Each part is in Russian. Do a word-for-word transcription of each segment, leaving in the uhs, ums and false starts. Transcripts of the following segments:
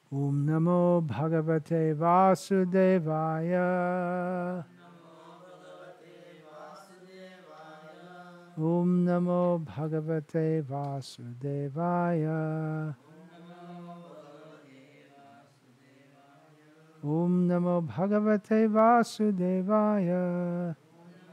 Om Namo Bhagavate Vasudevaya. Om Namo Bhagavate Vasudevaya. Om Namo Bhagavate Vasudevaya.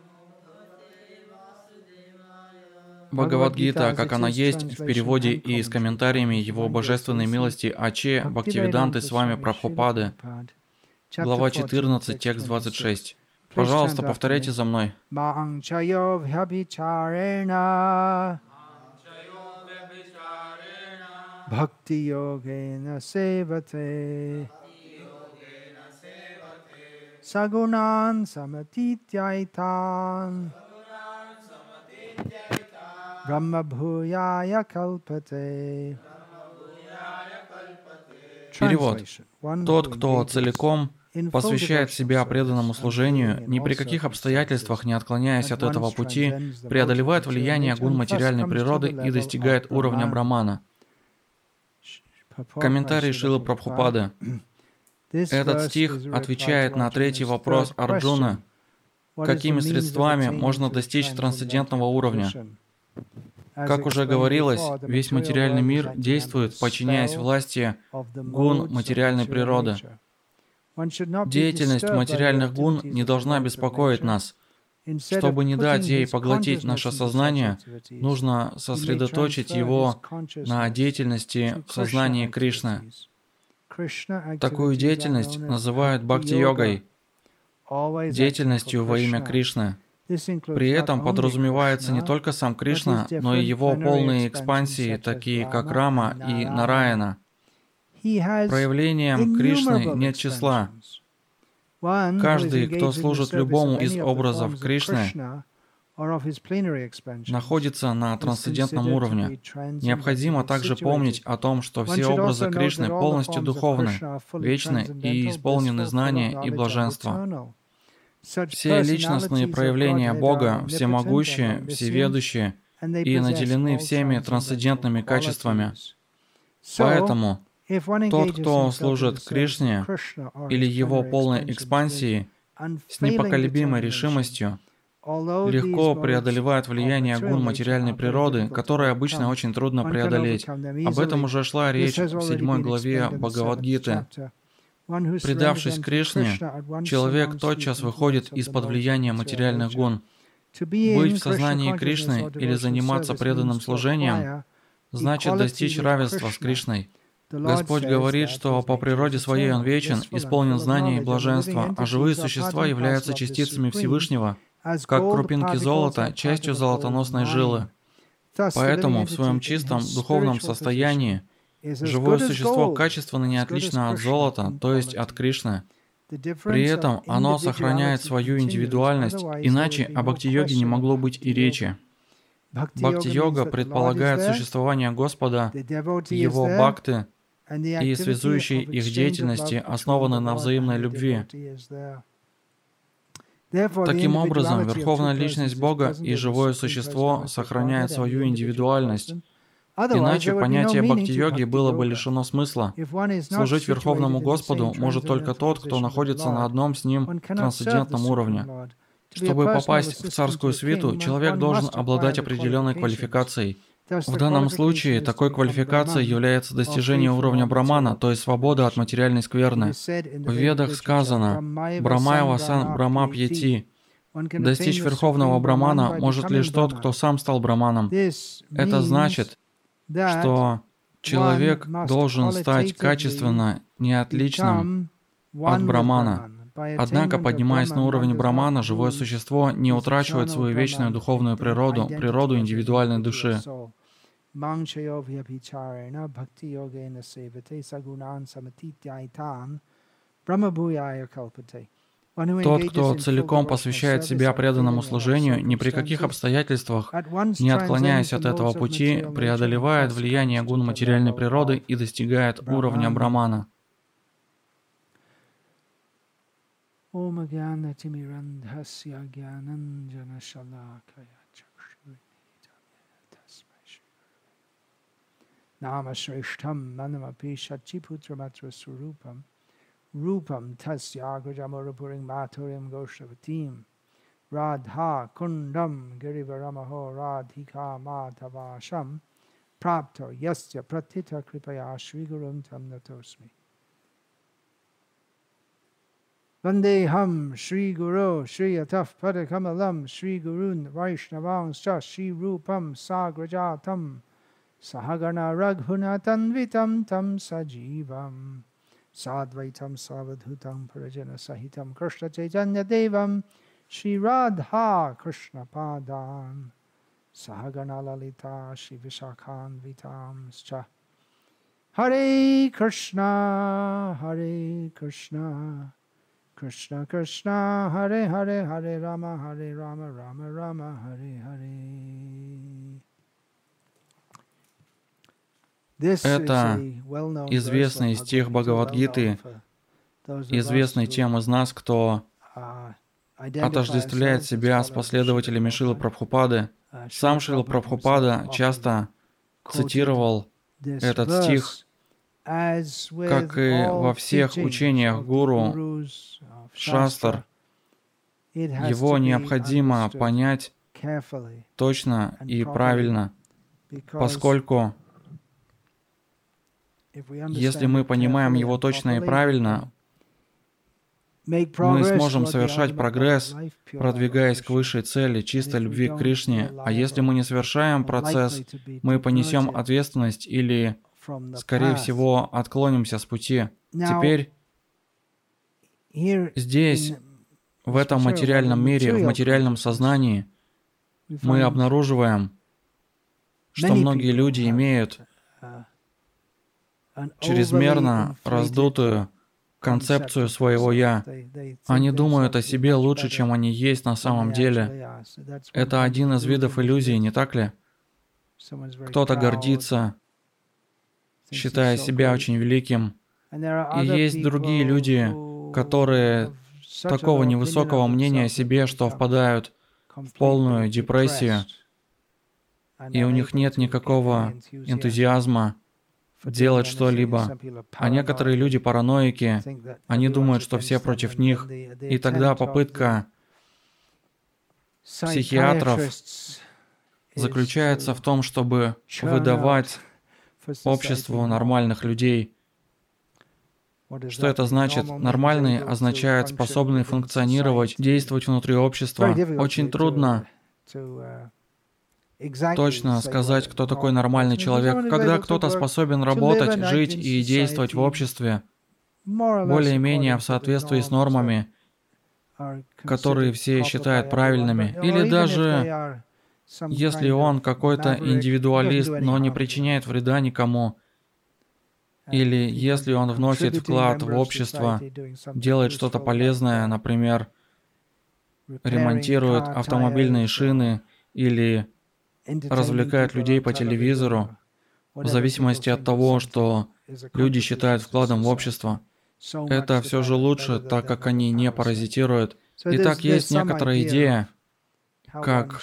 Бхагавад-гита, как она есть, в переводе и с комментариями Его Божественной милости Аче Бхактивиданты с вами Прабхупады. Глава четырнадцать, текст двадцать шесть. Пожалуйста, повторяйте за мной. Bhakti-yogena sevate Sagunan samatityaitan Brahma bhuyaya kalpate. Перевод. Тот, кто целиком посвящает себя преданному служению, ни при каких обстоятельствах не отклоняясь от этого пути, преодолевает влияние гун материальной природы и достигает уровня Брамана. Комментарий Шрилы Прабхупады. Этот стих отвечает на третий вопрос Арджуны. Какими средствами можно достичь трансцендентного уровня? Как уже говорилось, весь материальный мир действует, подчиняясь власти гун материальной природы. Деятельность материальных гун не должна беспокоить нас. Чтобы не дать ей поглотить наше сознание, нужно сосредоточить его на деятельности в сознании Кришны. Такую деятельность называют бхакти-йогой, деятельностью во имя Кришны. При этом подразумевается не только сам Кришна, но и его полные экспансии, такие как Рама и Нараяна. Проявлением Кришны нет числа. Каждый, кто служит любому из образов Кришны, находится на трансцендентном уровне. Необходимо также помнить о том, что все образы Кришны полностью духовны, вечны и исполнены знания и блаженства. Все личностные проявления Бога всемогущие, всеведущие и наделены всеми трансцендентными качествами. Поэтому тот, кто служит Кришне или его полной экспансии с непоколебимой решимостью, легко преодолевает влияние гун материальной природы, которое обычно очень трудно преодолеть. Об этом уже шла речь в седьмой главе Бхагавад-гиты. Предавшись Кришне, человек тотчас выходит из-под влияния материальных гун. Быть в сознании Кришны или заниматься преданным служением значит достичь равенства с Кришной. Господь говорит, что по природе своей Он вечен, исполнен знания и блаженства, а живые существа являются частицами Всевышнего, как крупинки золота, частью золотоносной жилы. Поэтому в своем чистом духовном состоянии живое существо качественно не отлично от золота, то есть от Кришны. При этом оно сохраняет свою индивидуальность, иначе о бхакти-йоге не могло быть и речи. Бхакти-йога предполагает существование Господа, Его бхакты и связующей их деятельности, основаны на взаимной любви. Таким образом, Верховная Личность Бога и живое существо сохраняют свою индивидуальность. Иначе понятие бхакти-йоги было бы лишено смысла. Служить Верховному Господу может только тот, кто находится на одном с Ним трансцендентном уровне. Чтобы попасть в царскую свиту, человек должен обладать определенной квалификацией. В данном случае такой квалификацией является достижение уровня Брамана, то есть свобода от материальной скверны. В Ведах сказано «Брамаева сан Брамапьяти». Достичь Верховного Брамана может лишь тот, кто сам стал Браманом. Это значит, что человек должен стать качественно неотличным от Брамана. Однако, поднимаясь на уровень Брамана, живое существо не утрачивает свою вечную духовную природу, природу индивидуальной души. Тот, кто целиком посвящает себя преданному служению, ни при каких обстоятельствах, не отклоняясь от этого пути, преодолевает влияние гун материальной природы и достигает уровня Брамана. Nama Shrishtam Manamapi Shachiputra Surupam Rupam Tasya Gujamorapuring Maturim Goshavatim Radha Kundam Girivaramaho Radhika Madhavasham Prapto Yasya Pratita Kripaya Shri Gurum Tam Natosmi Vandeham Shri Guru Shri Ataf Padakamalam Shri Gurun Vaishnavangscha Shri Rupam Sagrajatam Sahagana Raghunatanvitam Tam Sajivam Sadvaitam Savadhutam Parajana Sahitam Krishna Chaitanya Devam Shri Radha Krishna Padam Sahagana Lalita Shri Vishakhan Vitam Scha Hare Krishna Hare Krishna Krishna Krishna Hare Hare Hare Rama Hare Rama Rama Rama Hare Hare. Это известный стих Бхагавад-гиты, известный тем из нас, кто отождествляет себя с последователями Шрилы Прабхупады. Сам Шрила Прабхупада часто цитировал этот стих, как и во всех учениях гуру, шастр. Его необходимо понять точно и правильно, поскольку если мы понимаем его точно и правильно, мы сможем совершать прогресс, продвигаясь к высшей цели, чистой любви к Кришне. А если мы не совершаем процесс, мы понесем ответственность или, скорее всего, отклонимся с пути. Теперь здесь, в этом материальном мире, в материальном сознании, мы обнаруживаем, что многие люди имеют чрезмерно раздутую концепцию своего «я». Они думают о себе лучше, чем они есть на самом деле. Это один из видов иллюзий, не так ли? Кто-то гордится, считая себя очень великим. И есть другие люди, которые такого невысокого мнения о себе, что впадают в полную депрессию, и у них нет никакого энтузиазма делать что-либо. А некоторые люди параноики, они думают, что все против них, и тогда попытка психиатров заключается в том, чтобы выдавать обществу нормальных людей. Что это значит? Нормальный означает способный функционировать, действовать внутри общества. Очень трудно точно сказать, кто такой нормальный человек. Когда кто-то способен работать, жить и действовать в обществе, более-менее в соответствии с нормами, которые все считают правильными, или даже если он какой-то индивидуалист, но не причиняет вреда никому, или если он вносит вклад в общество, делает что-то полезное, например, ремонтирует автомобильные шины или развлекает людей по телевизору, в зависимости от того, что люди считают вкладом в общество. Это все же лучше, так как они не паразитируют. Итак, есть некоторая идея, как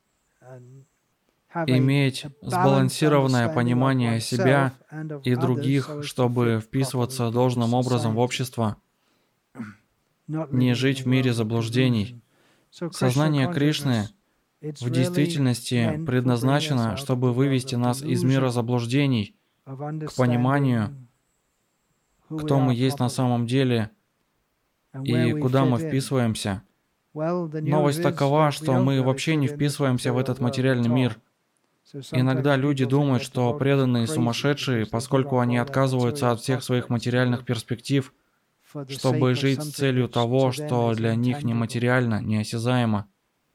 иметь сбалансированное понимание себя и других, чтобы вписываться должным образом в общество, не жить в мире заблуждений. Сознание Кришны в действительности предназначено, чтобы вывести нас из мира заблуждений к пониманию, кто мы есть на самом деле и куда мы вписываемся. Новость такова, что мы вообще не вписываемся в этот материальный мир. Иногда люди думают, что преданные сумасшедшие, поскольку они отказываются от всех своих материальных перспектив, чтобы жить с целью того, что для них нематериально, неосязаемо.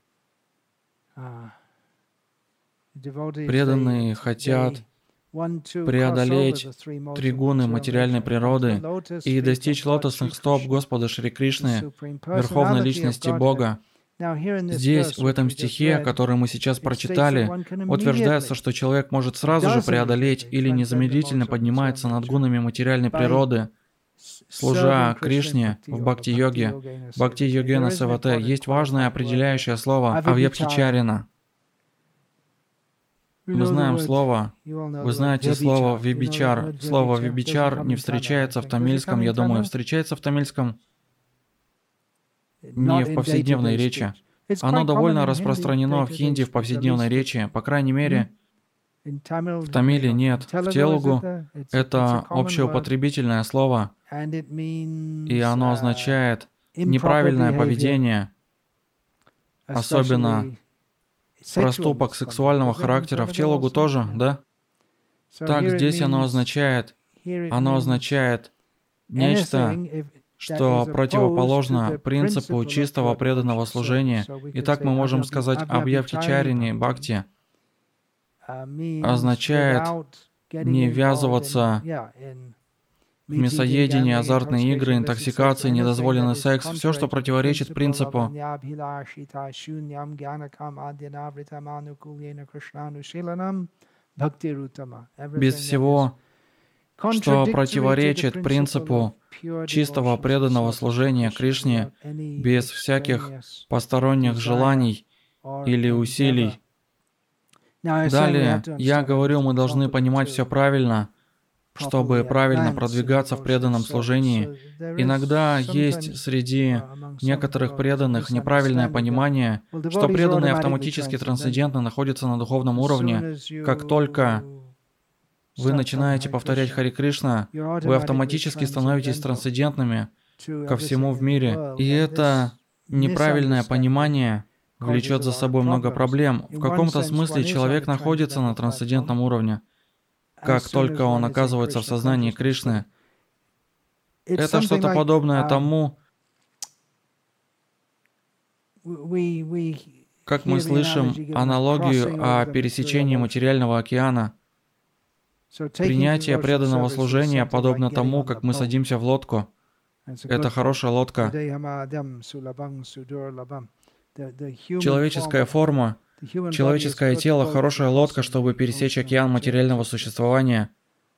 Преданные хотят преодолеть три гуны материальной природы и достичь лотосных стоп Господа Шри Кришны, Верховной Личности Бога. Здесь, в этом стихе, который мы сейчас прочитали, утверждается, что человек может сразу же преодолеть или незамедлительно поднимается над гунами материальной природы, служа Кришне в бхакти-йоге. Бхакти-йогена севате есть важное определяющее слово авьябхичарина. Мы знаем слово, вы знаете слово «вибичар». Слово «вибичар» не встречается в тамильском, я думаю, встречается в тамильском не в повседневной речи. Оно довольно распространено в хинди в повседневной речи, по крайней мере, в тамиле нет. В телугу это общеупотребительное слово, и оно означает неправильное поведение, особенно проступок сексуального характера. В телугу тоже, да? Так здесь оно означает, оно означает нечто, что противоположно принципу чистого преданного служения. Итак, мы можем сказать об явхичарине бхакти. Означает не ввязываться в мясоедение, азартные игры, интоксикации, недозволенный секс, все, что противоречит принципу без всего, что противоречит принципу чистого преданного служения Кришне, без всяких посторонних желаний или усилий. Далее, я говорю, мы должны понимать все правильно, чтобы правильно продвигаться в преданном служении. Иногда есть среди некоторых преданных неправильное понимание, что преданные автоматически трансцендентно находятся на духовном уровне. Как только вы начинаете повторять Хари Кришна, вы автоматически становитесь трансцендентными ко всему в мире. И это неправильное понимание влечет за собой много проблем. В каком-то смысле человек находится на трансцендентном уровне. Как только он оказывается в сознании Кришны, это что-то подобное тому, как мы слышим аналогию о пересечении материального океана. Принятие преданного служения подобно тому, как мы садимся в лодку. Это хорошая лодка. Человеческая форма, человеческое тело – хорошая лодка, чтобы пересечь океан материального существования.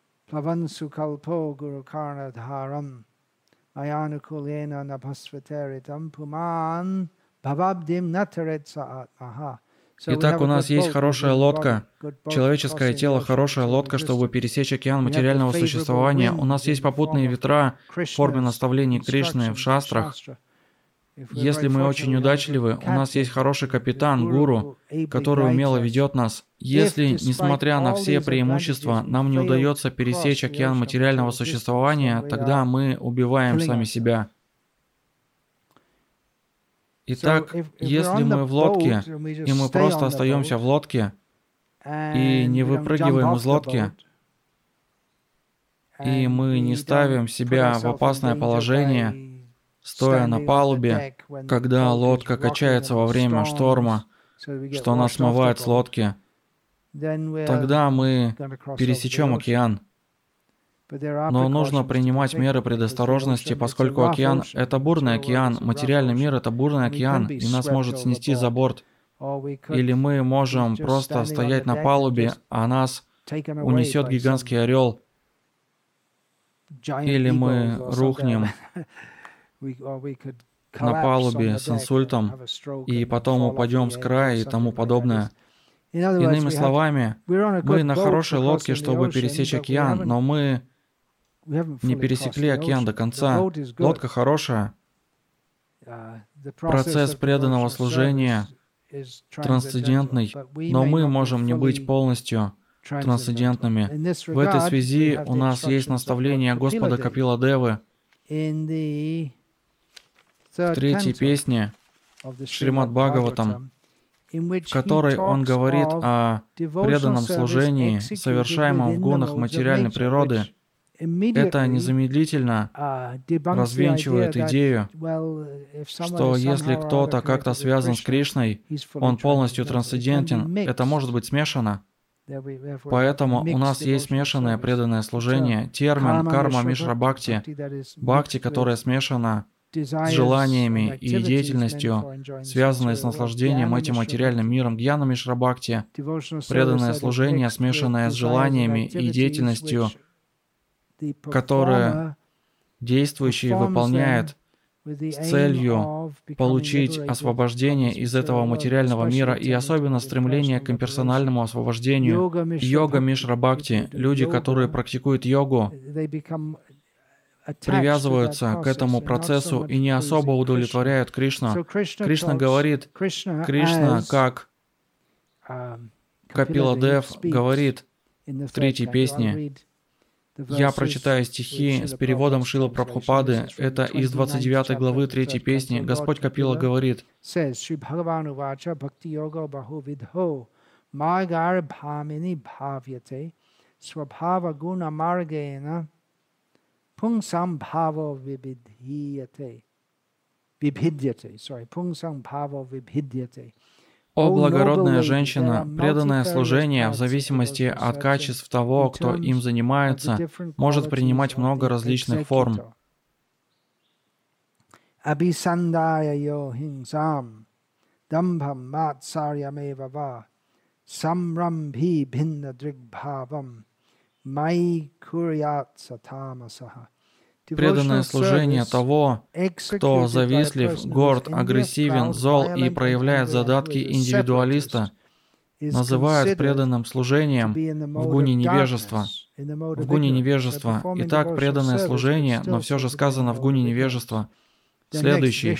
Итак, у нас есть хорошая лодка, человеческое тело – хорошая лодка, чтобы пересечь океан материального существования. У нас есть попутные ветра в форме наставлений Кришны в шастрах. Если мы очень удачливы, у нас есть хороший капитан, гуру, который умело ведет нас. Если, несмотря на все преимущества, нам не удается пересечь океан материального существования, тогда мы убиваем сами себя. Итак, если мы в лодке, и мы просто остаемся в лодке, и не выпрыгиваем из лодки, и мы не ставим себя в опасное положение, стоя на палубе, когда лодка качается во время шторма, что нас смывает с лодки, тогда мы пересечем океан. Но нужно принимать меры предосторожности, поскольку океан — это бурный океан, материальный мир — это бурный океан, и нас может снести за борт. Или мы можем просто стоять на палубе, а нас унесет гигантский орел. Или мы рухнем на палубе с инсультом и потом упадем с края и тому подобное. Иными словами, мы на хорошей лодке, чтобы пересечь океан, но мы не пересекли океан до конца. Лодка хорошая. Процесс преданного служения трансцендентный, но мы можем не быть полностью трансцендентными. В этой связи у нас есть наставление Господа Капила Девы в третьей песне Шримад Бхагаватам, в которой он говорит о преданном служении, совершаемом в гунах материальной природы. Это незамедлительно развенчивает идею, что если кто-то как-то связан с Кришной, он полностью трансцендентен, это может быть смешано. Поэтому у нас есть смешанное преданное служение. Термин «карма мишра бхакти» — бхакти, которая смешана с желаниями и деятельностью, связанной с наслаждением этим материальным миром. Гьяна мишра бхакти — преданное служение, смешанное с желаниями и деятельностью, которое действующий выполняет с целью получить освобождение из этого материального мира и особенно стремление к имперсональному освобождению. Йога Мишра Бхакти, люди, которые практикуют йогу, привязываются к этому процессу и не особо удовлетворяют Кришну. Кришна говорит, Кришна, как Капила Дев говорит в третьей песне, я прочитаю стихи с переводом Шрилы Прабхупады, это из двадцать девятой главы третьей песни. Господь Капила говорит, Pungsam bhavo vibhidhyate. Vibhidyate, sorry, pungsam bhavo vibhidyate. «О благородная женщина, преданное служение, в зависимости от качеств того, кто им занимается, может принимать много различных форм. Abhisandaya yohingsam, dambham matsaryameva, samrambhi bhinna drigbhavam, mai kuryat satamasaha». Преданное служение того, кто завистлив, горд, агрессивен, зол и проявляет задатки индивидуалиста, называют преданным служением в гуне невежества. В гуне невежества. Итак, преданное служение, но все же сказано в гуне невежества. Следующий.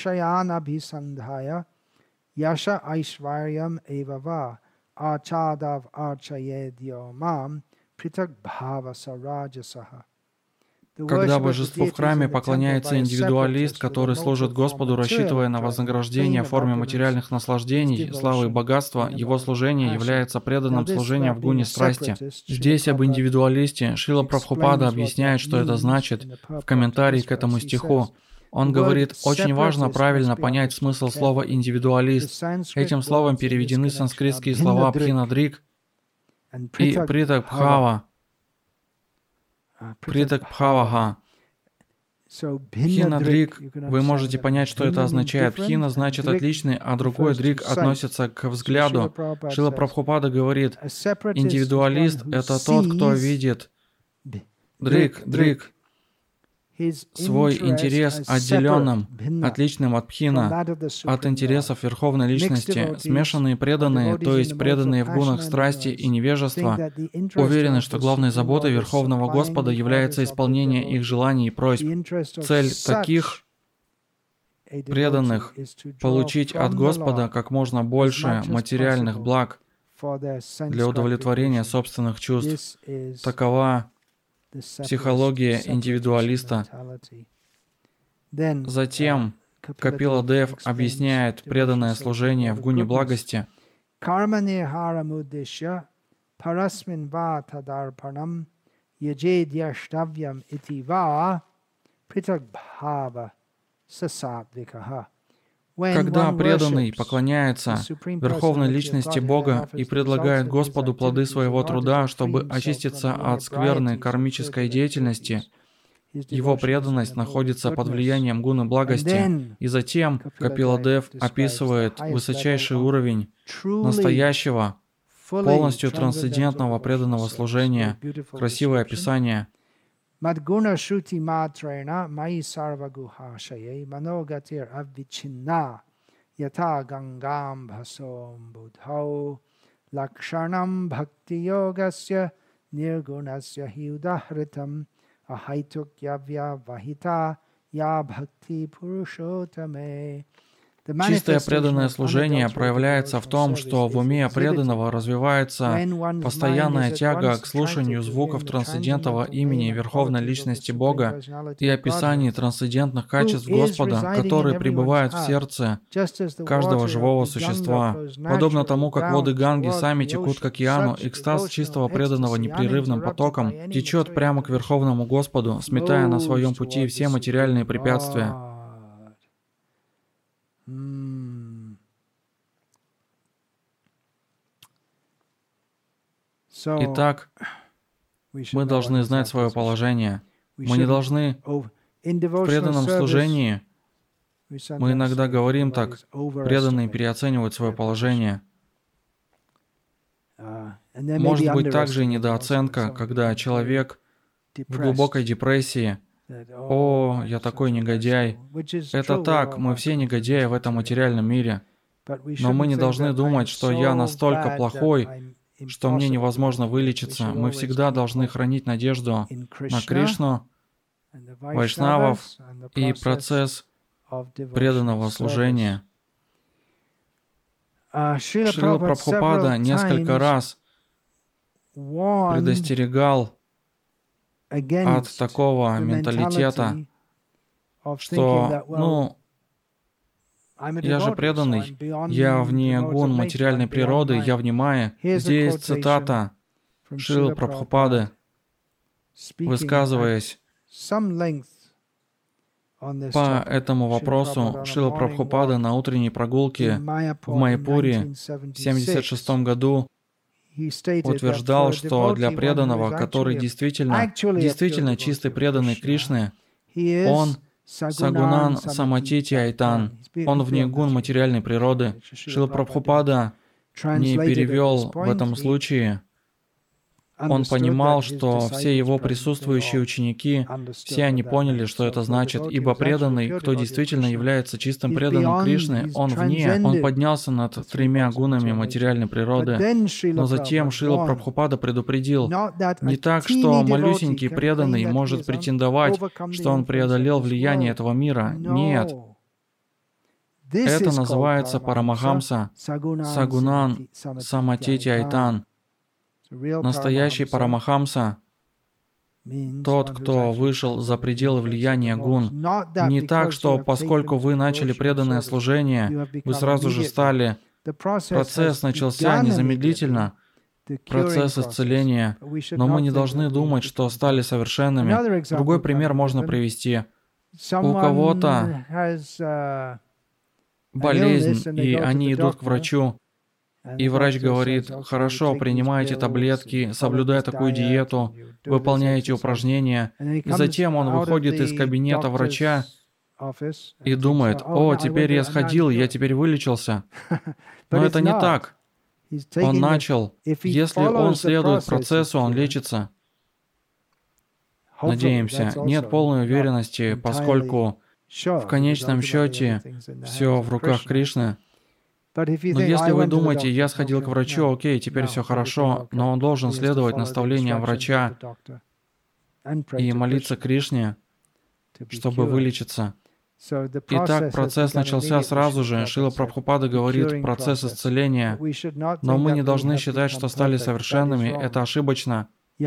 Когда божеству в храме поклоняется индивидуалист, который служит Господу, рассчитывая на вознаграждение в форме материальных наслаждений, славы и богатства, его служение является преданным служением в гуне страсти. Здесь об индивидуалисте Шрила Прабхупада объясняет, что это значит, в комментарии к этому стиху. Он говорит, очень важно правильно понять смысл слова «индивидуалист». Этим словом переведены санскритские слова «пхинадрик» и «притакбхава». Притак Бхавага. Пхина Дрик, вы можете понять, что это означает. Пхина значит отличный, а другой Дрик относится к взгляду. Шрила Прабхупада говорит, индивидуалист — это тот, кто видит Дрик, Дрик, свой интерес отделенным, отличным от пхина, от интересов Верховной Личности. Смешанные преданные, то есть преданные в гунах страсти и невежества, уверены, что главной заботой Верховного Господа является исполнение их желаний и просьб. Цель таких преданных — получить от Господа как можно больше материальных благ для удовлетворения собственных чувств. Такова психология индивидуалиста. Затем Капила Дев объясняет преданное служение в гуне благости. Когда преданный поклоняется Верховной Личности Бога и предлагает Господу плоды своего труда, чтобы очиститься от скверной кармической деятельности, его преданность находится под влиянием гуны благости. И затем Капила Дев описывает высочайший уровень настоящего, полностью трансцендентного преданного служения. Красивое описание. Madguna Shruti Matrena Mai Sarvaguhashaye Manogatir Avichinna Yata Gangam Bhasom Budhau Lakshanam Bhakti Yogasya Nirgunasya Hiudahritam Ahaituk Yavya Vahita Ya Bhakti Purushotame. Чистое преданное служение проявляется в том, что в уме преданного развивается постоянная тяга к слушанию звуков трансцендентного имени Верховной Личности Бога и описаний трансцендентных качеств Господа, которые пребывают в сердце каждого живого существа. Подобно тому, как воды Ганги сами текут к океану, экстаз чистого преданного непрерывным потоком течет прямо к Верховному Господу, сметая на своем пути все материальные препятствия. Итак, мы должны знать свое положение. Мы не должны в преданном служении, мы иногда говорим так, преданные переоценивают свое положение. Может быть также и недооценка, когда человек в глубокой депрессии «О, я такой негодяй». Это так, мы все негодяи в этом материальном мире. Но мы не должны думать, что я настолько плохой, что мне невозможно вылечиться. Мы всегда должны хранить надежду на Кришну, вайшнавов и процесс преданного служения. Шрила Прабхупада несколько раз предостерегал от такого менталитета, что, ну, я же преданный, я вне гун материальной природы, я в Майе. Здесь цитата Шрилы Прабхупады, высказываясь по этому вопросу. Шрила Прабхупада на утренней прогулке в Майяпуре в семьдесят шестом году утверждал, что для преданного, который действительно, действительно чистый преданный Кришне, он Сагунан Саматити Айтан, он вне гун материальной природы. Шрила Прабхупада не перевел в этом случае. Он понимал, что все его присутствующие ученики, все они поняли, что это значит, ибо преданный, кто действительно является чистым преданным Кришне, он вне, он поднялся над тремя гунами материальной природы. Но затем Шрила Прабхупада предупредил, не так, что малюсенький преданный может претендовать, что он преодолел влияние этого мира. Нет. Это называется Парамахамса, Сагунан Саматити Айтан. Настоящий Парамахамса, тот, кто вышел за пределы влияния гун. Не так, что поскольку вы начали преданное служение, вы сразу же стали. Процесс начался незамедлительно, процесс исцеления, но мы не должны думать, что стали совершенными. Другой пример можно привести. У кого-то болезнь, и они идут к врачу, и врач говорит: хорошо, принимайте таблетки, соблюдая такую диету, выполняйте упражнения. И затем он выходит из кабинета врача и думает: о, теперь я сходил, я теперь вылечился. Но это не так. Он начал. Если он следует процессу, он лечится. Надеемся. Нет полной уверенности, поскольку в конечном счете все в руках Кришны. Но если вы думаете, я сходил к врачу, окей, теперь все хорошо, но он должен следовать наставлениям врача и молиться Кришне, чтобы вылечиться. Итак, процесс начался сразу же. Шрила Прабхупада говорит процесс исцеления, но мы не должны считать, что стали совершенными. Это ошибочно.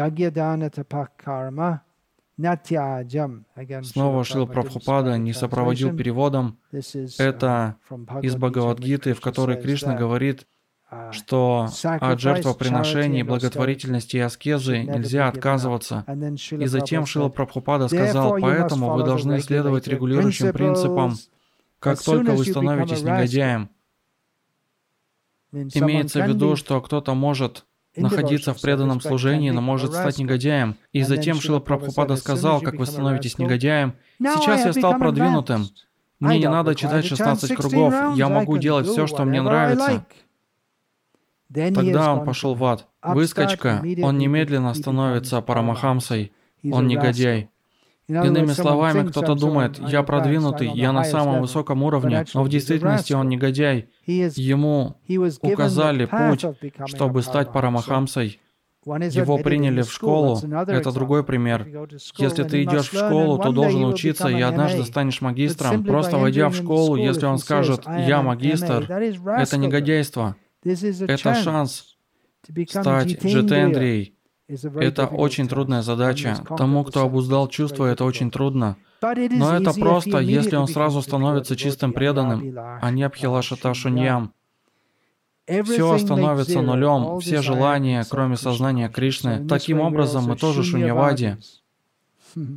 Снова Шрила Прабхупада не сопроводил переводом. Это из Бхагавад-гиты, в которой Кришна говорит, что от жертвоприношений, благотворительности и аскезы нельзя отказываться. И затем Шрила Прабхупада сказал: поэтому вы должны следовать регулирующим принципам, как только вы становитесь негодяем. Имеется в виду, что кто-то может находиться в преданном служении, но может стать негодяем. И затем Шрила Прабхупада сказал: как вы становитесь негодяем. Сейчас я стал продвинутым. Мне не надо читать шестнадцать кругов. Я могу делать все, что мне нравится. Тогда он пошел в ад. Выскочка, он немедленно становится Парамахамсой. Он негодяй. Иными словами, кто-то думает: я продвинутый, я на самом высоком уровне, но в действительности он негодяй. Ему указали путь, чтобы стать Парамахамсой. Его приняли в школу. Это другой пример. Если ты идешь в школу, то должен учиться, и однажды станешь магистром. Просто войдя в школу, если он скажет: я магистр, это негодяйство. Это шанс стать джитендрией. Это очень трудная задача. Тому, кто обуздал чувства, это очень трудно. Но это просто, если он сразу становится чистым преданным, а не абхилашата шуньям. Все становится нулем, все желания, кроме сознания Кришны. Таким образом, мы тоже шуньявади. В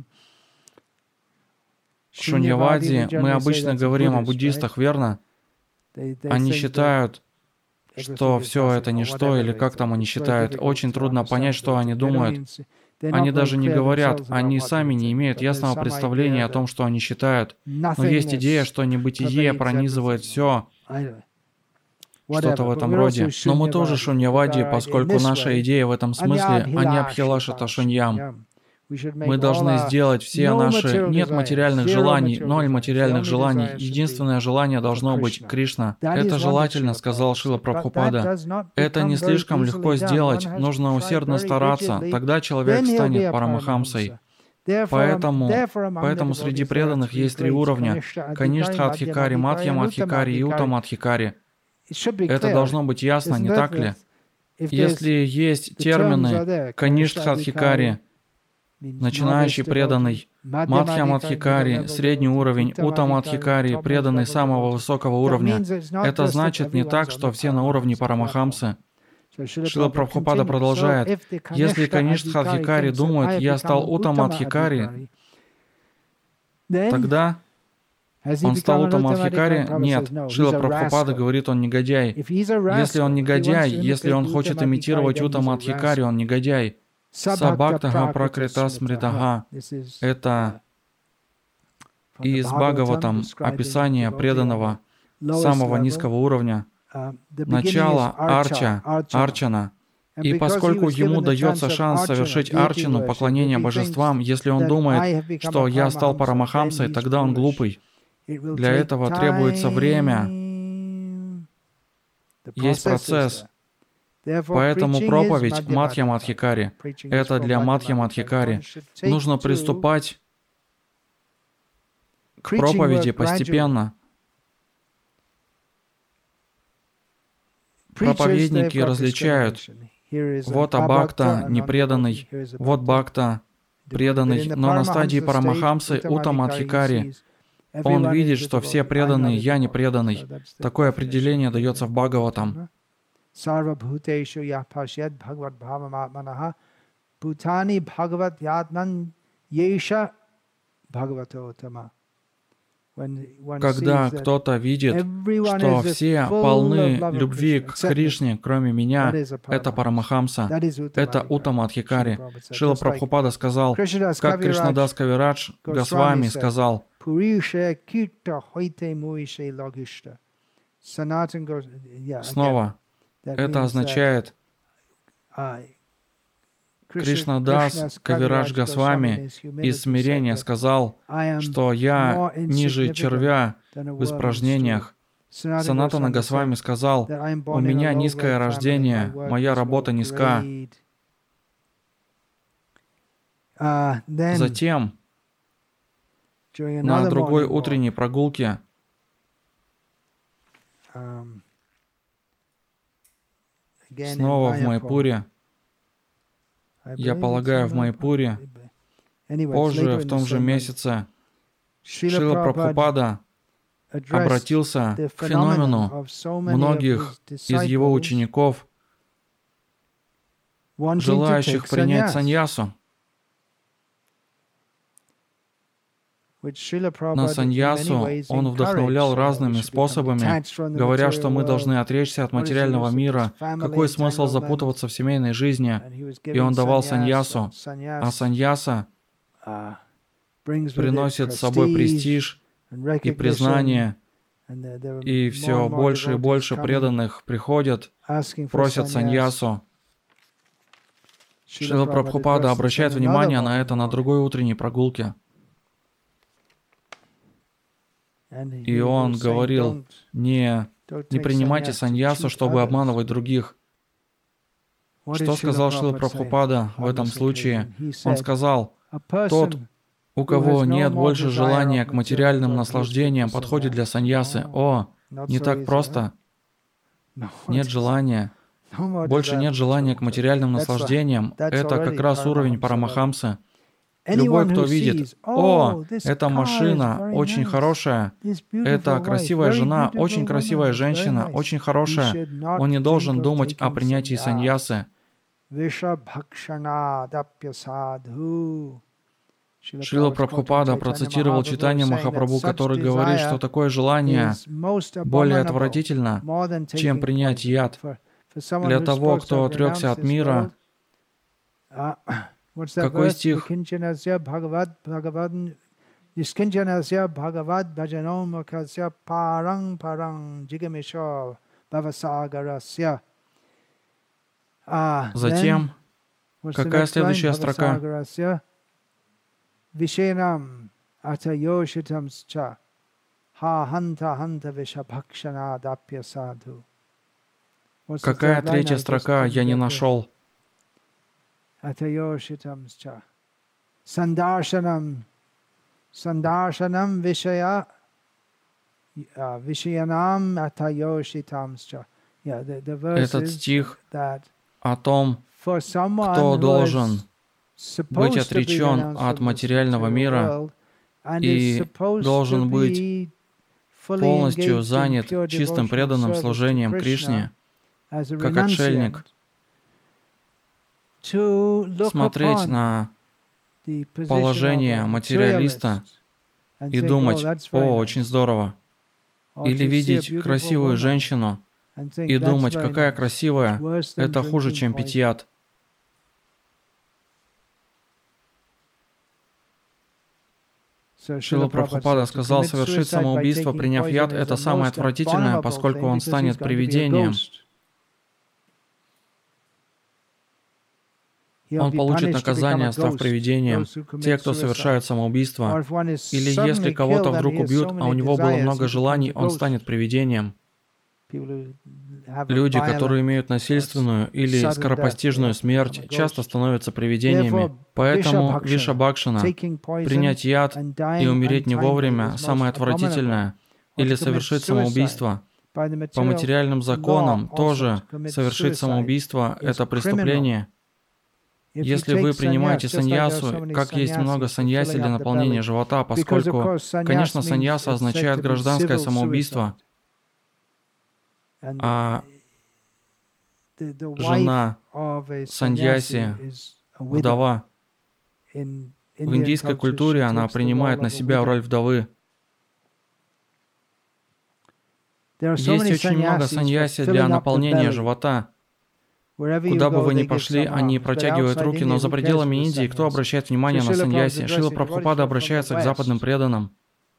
шуньявади мы обычно говорим о буддистах, верно? Они считают, что все это ничто, или как там они считают. Очень трудно понять, что они думают. Они даже не говорят, они сами не имеют ясного представления о том, что они считают. Но есть идея, что небытие пронизывает все, что-то в этом роде. Но мы тоже шуньявади, поскольку наша идея в этом смысле, а не абхилашата шуньям. Мы должны сделать все наши нет материальных желаний, ноль материальных желаний. Единственное желание должно быть Кришна. Это желательно, сказал Шрила Прабхупада. Это не слишком легко сделать, нужно усердно стараться, тогда человек станет парамахамсой. Поэтому, поэтому среди преданных есть три уровня – Каништха-адхикари, Мадхья-мадхикари и Уттама-адхикари. Это должно быть ясно, не так ли? Если есть термины Каништха-адхикари, начинающий преданный, Мадхья-мадхикари, средний уровень, Уттама-адхикари, преданный самого высокого уровня, это значит не так, что все на уровне парамахамсы. Шрила Прабхупада продолжает, если Каништха-адхикари думают, я стал Уттама-адхикари, тогда он стал Уттама-адхикари? Нет. Шрила Прабхупада говорит, он негодяй. Если он негодяй, если он хочет имитировать Уттама-адхикари, он негодяй. Сабхактага пракрита смритага. Это из Бхагаватам описание преданного самого низкого уровня. Начало арча, арчана. И поскольку ему дается шанс совершить арчану, поклонение божествам, если он думает, что я стал парамахамсой, тогда он глупый. Для этого требуется время. Есть процесс. Поэтому проповедь Мадхья-мадхикари — это для Мадхья-мадхикари. Нужно приступать к проповеди постепенно. Проповедники различают. Вот абхакта непреданный, вот бхакта преданный, но на стадии парамахамсы Уттама-адхикари он видит, что все преданные, я не преданный. Такое определение дается в Бхагаватам. Когда кто-то видит, что все полны любви к Кришне, кроме меня, это парамахамса, это Уттама-адхикари. Шрила Прабхупада сказал, как Кришнадас Кавирадж Госвами сказал, снова, это означает, Кришнадас Кавирадж Госвами из смирения сказал, что я ниже червя в испражнениях. Санатана Госвами сказал, у меня низкое рождение, моя работа низка. Затем, на другой утренней прогулке, снова в Майпуре, я полагаю, в Майпуре, позже, в том же месяце, Шрила Прабхупада обратился к феномену многих из его учеников, желающих принять саньясу. На саньясу он вдохновлял разными способами, говоря, что мы должны отречься от материального мира, какой смысл запутываться в семейной жизни. И он давал саньясу, а саньяса приносит с собой престиж и признание, и все больше и больше преданных приходят, просят саньясу. Шрила Прабхупада обращает внимание на это на другой утренней прогулке. И он говорил, не, не принимайте саньясу, чтобы обманывать других. Что сказал Шрила Прабхупада в этом случае? Он сказал, тот, у кого нет больше желания к материальным наслаждениям, подходит для саньясы. О, не так просто. Нет желания. Больше нет желания к материальным наслаждениям. Это как раз уровень парамахамсы. Любой, кто видит, о, эта машина очень хорошая, это красивая жена, очень красивая женщина, очень хорошая, он не должен думать о принятии саньясы. Шрила Прабхупада процитировал Чайтанья Махапрабху, который говорит, что такое желание более отвратительно, чем принять яд. Для того, кто отрекся от мира, какой стих? Затем, какая следующая строка? Vishenam atayoshitamscha ha hanta hanta vishabhakshanadapya sadhu. Какая третья строка? Я не нашел. Atayoshitamscha sandarshanam sandarshanam vishaya vishayanam atayoshitamscha. Этот стих о том, кто должен быть отречен от материального мира и должен быть полностью занят чистым преданным служением Кришне, как отшельник, смотреть на положение материалиста и думать: «О, очень здорово». Или видеть красивую женщину и думать: «Какая красивая, это хуже, чем пить яд». Шрила Прабхупада сказал: совершить самоубийство, приняв яд, это самое отвратительное, поскольку он станет привидением. Он получит наказание, став привидением. Те, кто совершают самоубийство, или если кого-то вдруг убьют, а у него было много желаний, он станет привидением. Люди, которые имеют насильственную или скоропостижную смерть, часто становятся привидениями. Поэтому Вишабхакшана, принять яд и умереть не вовремя, самое отвратительное, или совершить самоубийство. По материальным законам тоже совершить самоубийство — это преступление. Если вы принимаете саньясу, как есть много саньяси для наполнения живота, поскольку, конечно, саньяса означает гражданское самоубийство, а жена саньяси, вдова, в индийской культуре она принимает на себя роль вдовы. Есть очень много саньяси для наполнения живота. Куда бы вы ни пошли, они протягивают руки, но за пределами Индии кто обращает внимание на саньяси? Шрила Прабхупада обращается к западным преданным.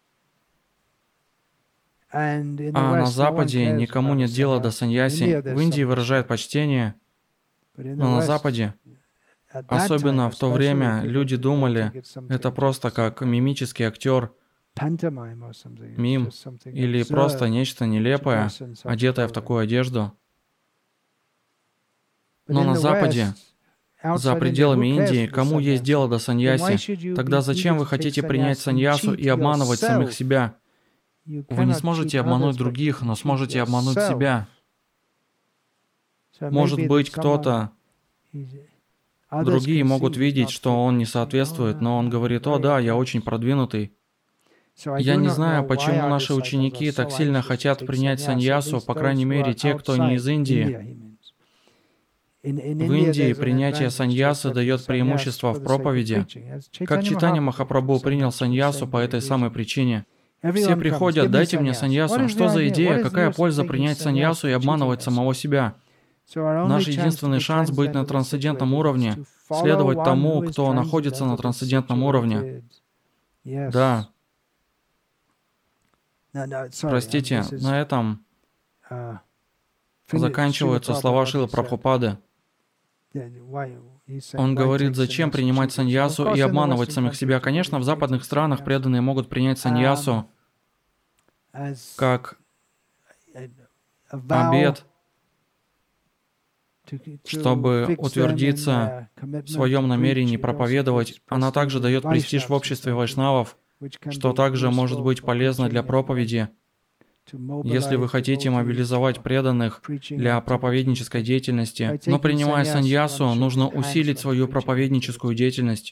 А на Западе никому нет дела до саньяси. В Индии выражают почтение, но на Западе, особенно в то время, люди думали, это просто как мимический актер, мим, или просто нечто нелепое, одетое в такую одежду. Но на Западе, за пределами Индии, кому есть дело до саньяси? Тогда зачем вы хотите принять саньясу и обманывать самих себя? Вы не сможете обмануть других, но сможете обмануть себя. Может быть, кто-то, другие могут видеть, что он не соответствует, но он говорит: «О, да, я очень продвинутый». Я не знаю, почему наши ученики так сильно хотят принять саньясу, по крайней мере, те, кто не из Индии. В Индии принятие саньясы дает преимущество в проповеди. Как Чайтанья Махапрабху принял саньясу по этой самой причине. Все приходят: «Дайте мне саньясу». Что за идея? Какая польза принять саньясу и обманывать самого себя? Наш единственный шанс быть на трансцендентном уровне, следовать тому, кто находится на трансцендентном уровне. Да. Простите, на этом заканчиваются слова Шрилы Прабхупады. Он говорит: зачем принимать саньясу и обманывать самих себя? Конечно, в западных странах преданные могут принять саньясу как обет, чтобы утвердиться в своем намерении проповедовать. Она также дает престиж в обществе вайшнавов, что также может быть полезно для проповеди. Если вы хотите мобилизовать преданных для проповеднической деятельности, но принимая саньясу, нужно усилить свою проповедническую деятельность.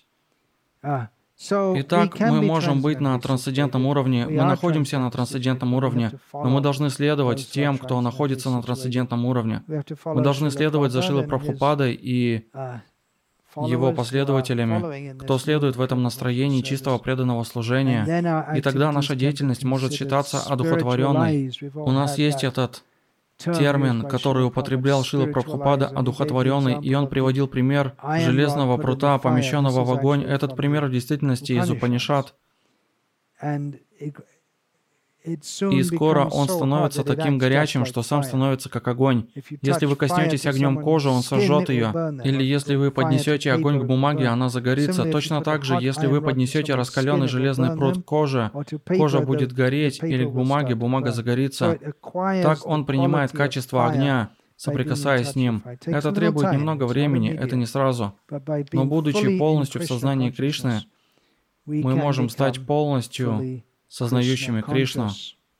Итак, мы можем быть на трансцендентном уровне, мы находимся на трансцендентном уровне, но мы должны следовать тем, кто находится на трансцендентном уровне. Мы должны следовать за Шрилой Прабхупадой и его последователями, кто следует в этом настроении чистого преданного служения, и тогда наша деятельность может считаться одухотворенной. У нас есть этот термин, который употреблял Шрила Прабхупада, одухотворенный, и он приводил пример железного прута, помещенного в огонь. Этот пример в действительности из Упанишад. И скоро он становится таким горячим, что сам становится как огонь. Если вы коснетесь огнем кожи, он сожжет ее. Или если вы поднесете огонь к бумаге, она загорится. Точно так же, если вы поднесете раскаленный железный пруд к коже, кожа будет гореть, или к бумаге, бумага загорится. Так он принимает качество огня, соприкасаясь с ним. Это требует немного времени, это не сразу. Но будучи полностью в сознании Кришны, мы можем стать полностью сознающими Кришну.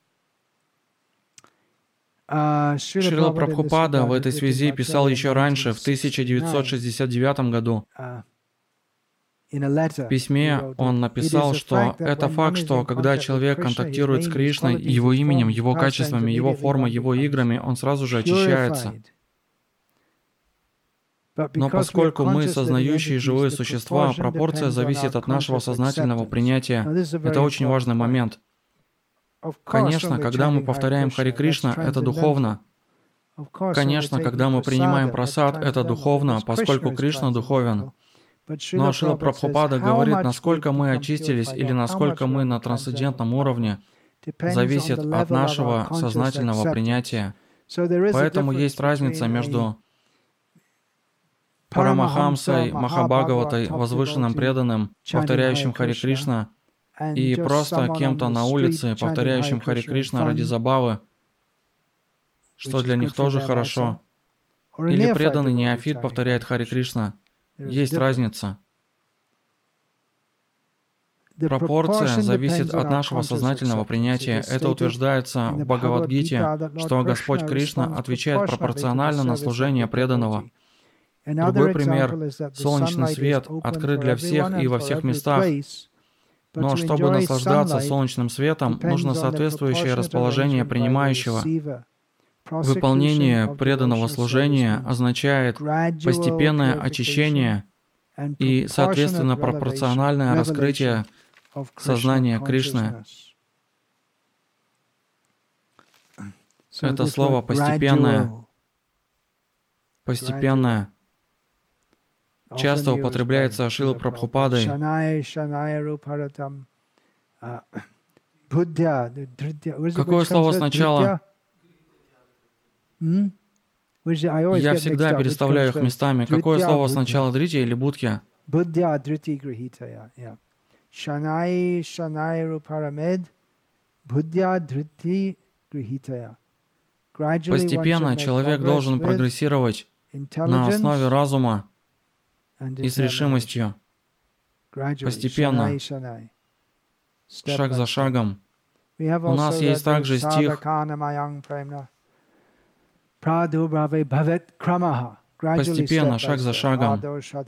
Шрила Прабхупада в этой связи писал еще раньше, в тысяча девятьсот шестьдесят девятом году. В письме он написал, что это факт, что когда человек контактирует с Кришной, его именем, его качествами, его формой, его играми, он сразу же очищается. Но поскольку мы сознающие живые существа, пропорция зависит от нашего сознательного принятия. Это очень важный момент. Конечно, когда мы повторяем Харе Кришна, это духовно. Конечно, когда мы принимаем прасад, это духовно, поскольку Кришна духовен. Но Шрила Прабхупада говорит, насколько мы очистились или насколько мы на трансцендентном уровне, зависит от нашего сознательного принятия. Поэтому есть разница между Парамахамсой, Махабхагаватой, возвышенным преданным, повторяющим Харе Кришна, и просто кем-то на улице, повторяющим Харе Кришна ради забавы, что для них тоже хорошо. Или преданный неофит повторяет Харе Кришна. Есть разница. Пропорция зависит от нашего сознательного принятия. Это утверждается в Бхагавад-гите, что Господь Кришна отвечает пропорционально на служение преданного. Другой пример — солнечный свет открыт для всех и во всех местах. Но чтобы наслаждаться солнечным светом, нужно соответствующее расположение принимающего. Выполнение преданного служения означает постепенное очищение и, соответственно, пропорциональное раскрытие сознания Кришны. Это слово «постепенное». Постепенное. Часто употребляется Шрилой Прабхупадой. Какое слово сначала? Я всегда переставляю их местами. Какое слово сначала, дрити или будхья? Постепенно человек должен прогрессировать на основе разума и с решимостью. Постепенно, шаг за шагом. У нас есть также стих «Постепенно, шаг за шагом».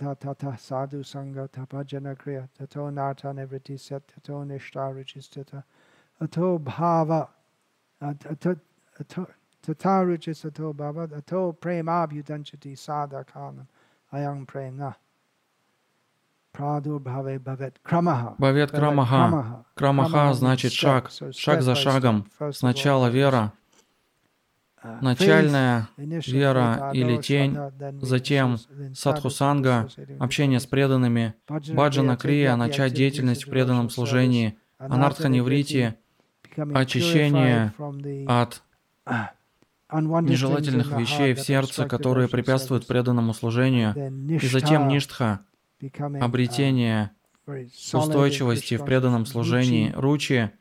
Бхавет крамаха. Крамаха значит шаг, шаг за шагом. Сначала вера, начальная вера или тень, затем садхусанга, общение с преданными, баджана крия, начать деятельность в преданном служении, анартха-неврити, очищение от нежелательных вещей в сердце, которые препятствуют преданному служению, и затем ништха, обретение устойчивости в преданном служении, ручи,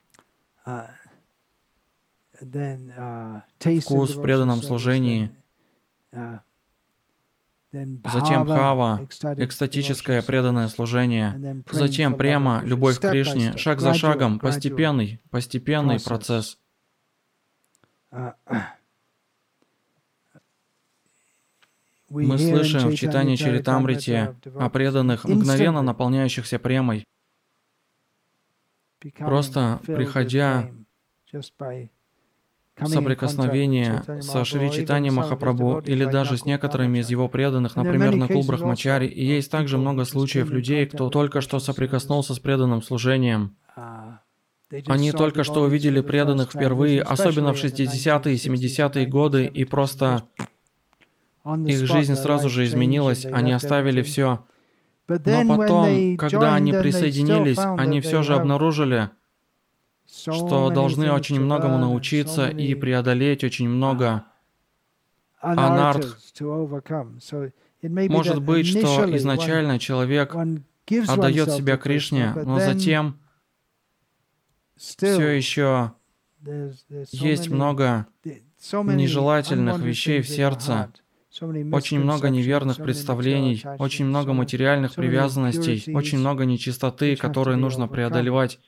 вкус в преданном служении, затем бхава, экстатическое преданное служение, затем према, любовь к Кришне, шаг за шагом, постепенный, постепенный процесс. Мы слышим в читании Чаритамрити о преданных, мгновенно наполняющихся премой, просто приходя в соприкосновение со Шри Чайтанья Махапрабху или даже с некоторыми из его преданных, например, Накул Брахмачари. И есть также много случаев людей, кто только что соприкоснулся с преданным служением. Они только что увидели преданных впервые, особенно в шестидесятые и семидесятые годы, и просто их жизнь сразу же изменилась, они оставили все. Но потом, когда они присоединились, они все же обнаружили, что должны очень многому научиться и преодолеть очень много анарх. Может быть, что изначально человек отдает себя Кришне, но затем все еще есть много нежелательных вещей в сердце, очень много неверных представлений, очень много материальных привязанностей, очень много нечистоты, которые нужно преодолевать.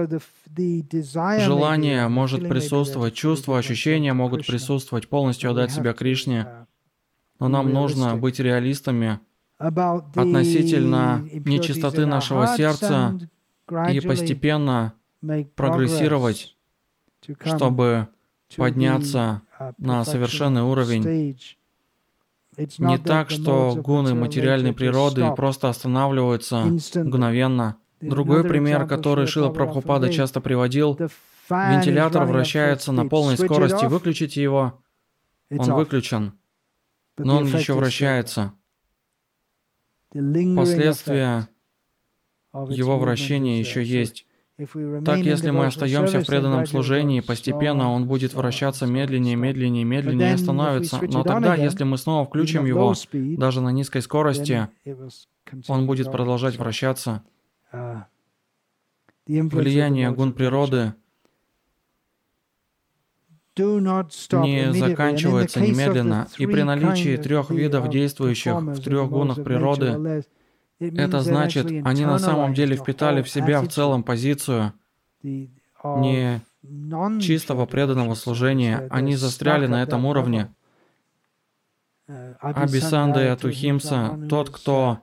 Желание может присутствовать, чувства, ощущения могут присутствовать, полностью отдать себя Кришне, но нам нужно быть реалистами относительно нечистоты нашего сердца и постепенно прогрессировать, чтобы подняться на совершенный уровень. Не так, что гуны материальной природы просто останавливаются мгновенно. Другой пример, который Шрила Прабхупада часто приводил: вентилятор вращается на полной скорости, выключите его, он выключен, но он еще вращается. Последствия его вращения еще есть. Так, если мы остаемся в преданном служении, постепенно он будет вращаться медленнее, медленнее, медленнее и остановится. Но тогда, если мы снова включим его, даже на низкой скорости, он будет продолжать вращаться. Влияние гун природы не заканчивается немедленно, и при наличии трех видов действующих в трех гунах природы, это значит, они на самом деле впитали в себя в целом позицию не чистого преданного служения, они застряли на этом уровне. Абисанда и Атухимса, тот, кто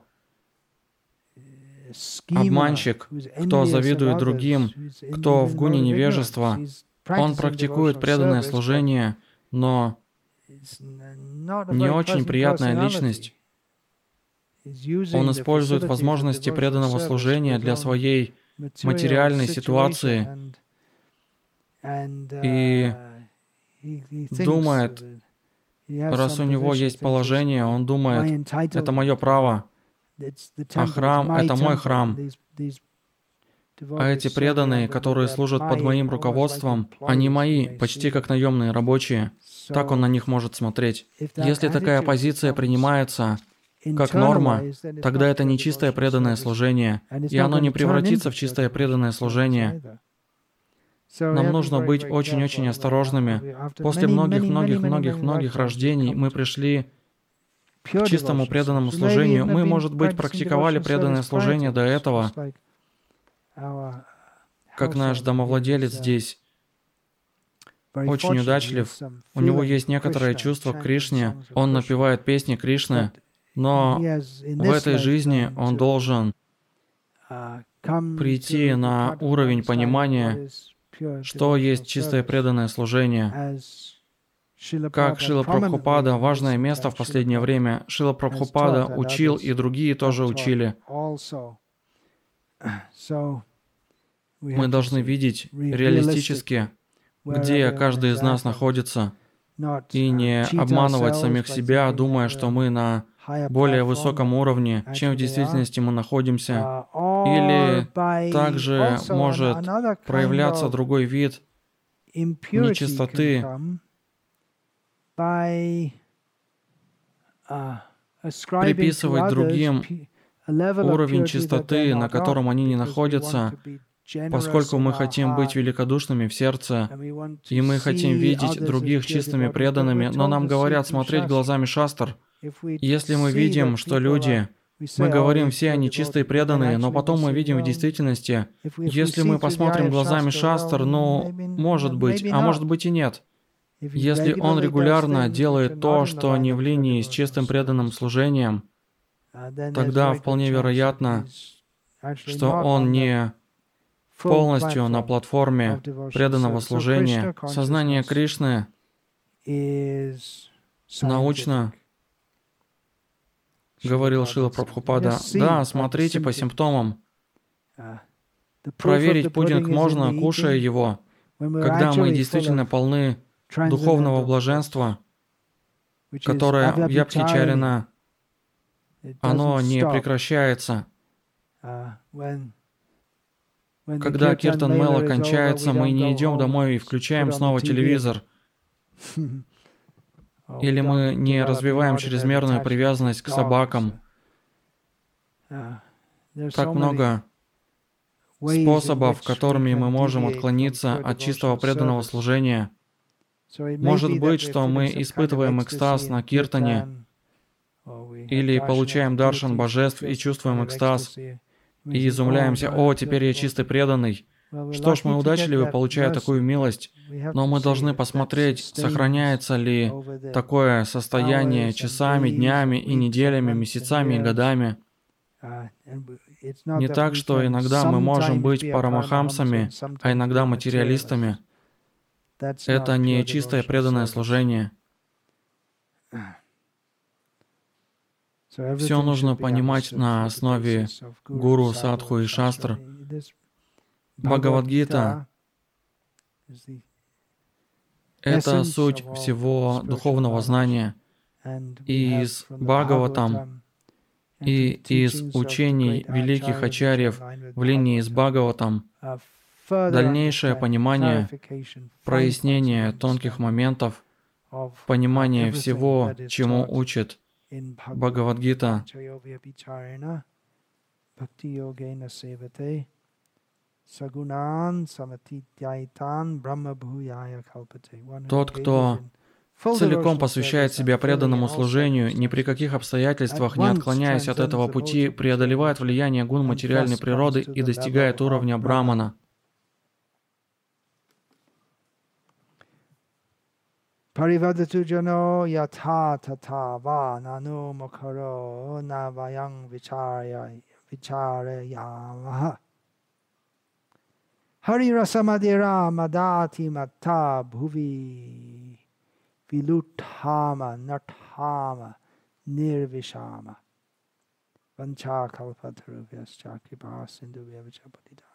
обманщик, кто завидует другим, кто в гуне невежества, он практикует преданное служение, но не очень приятная личность. Он использует возможности преданного служения для своей материальной ситуации и думает, раз у него есть положение, он думает, это мое право, а храм — это мой храм. А эти преданные, которые служат под моим руководством, они мои, почти как наемные рабочие. Так он на них может смотреть. Если такая позиция принимается как норма, тогда это не чистое преданное служение, и оно не превратится в чистое преданное служение. Нам нужно быть очень-очень осторожными. После многих-многих-многих-многих рождений мы пришли к чистому преданному служению. Мы, может быть, практиковали преданное служение до этого, как наш домовладелец здесь очень удачлив. У него есть некоторое чувство к Кришне, он напевает песни Кришны, но в этой жизни он должен прийти на уровень понимания, что есть чистое преданное служение. Как Шрила Прабхупада, важное место в последнее время, Шрила Прабхупада учил, и другие тоже учили. Мы должны видеть реалистически, где каждый из нас находится, и не обманывать самих себя, думая, что мы на более высоком уровне, чем в действительности мы находимся. Или также может проявляться другой вид нечистоты, приписывать другим уровень чистоты, на котором они не находятся, поскольку мы хотим быть великодушными в сердце, и мы хотим видеть других чистыми преданными, но нам говорят смотреть глазами шастр. Если мы видим, что люди, мы говорим, все они чистые преданные, но потом мы видим в действительности, если мы посмотрим глазами шастр, ну, может быть, а может быть и нет. Если он регулярно делает то, что не в линии с чистым преданным служением, тогда вполне вероятно, что он не полностью на платформе преданного служения. Сознание Кришны научно, говорил Шрила Прабхупада, да, смотрите по симптомам. Проверить пудинг можно, кушая его, когда мы действительно полны духовного блаженства, которое в Ябхичарина, оно не прекращается. Когда Киртан Мела кончается, мы не идем домой и включаем снова телевизор. Или мы не развиваем чрезмерную привязанность к собакам. Так много способов, которыми мы можем отклониться от чистого преданного служения. Может быть, что мы испытываем экстаз на киртане, или получаем даршан божеств и чувствуем экстаз, и изумляемся: «О, теперь я чистый преданный». Что ж, мы удачливы, получая такую милость, но мы должны посмотреть, сохраняется ли такое состояние часами, днями и неделями, месяцами и годами. Не так, что иногда мы можем быть парамахамсами, а иногда материалистами. Это не чистое преданное служение. Все нужно понимать на основе гуру, садху и шастр. Бхагавад-гита — это суть всего духовного знания. И из Бхагаватам, и из учений великих ачарьев в линии с Бхагаватам дальнейшее понимание, прояснение тонких моментов, понимание всего, чему учит Бхагавад-гита. Тот, кто целиком посвящает себя преданному служению, ни при каких обстоятельствах не отклоняясь от этого пути, преодолевает влияние гун материальной природы и достигает уровня брамана. Parivadatu jano yatha tatha va nanu mukharo navayang vicharya vicharayamaha. Hari rasamadira madati matta bhuvi viluthama nathama nirvishama vancha kalpatarubhyascha kripa sindhu vyavachapatita.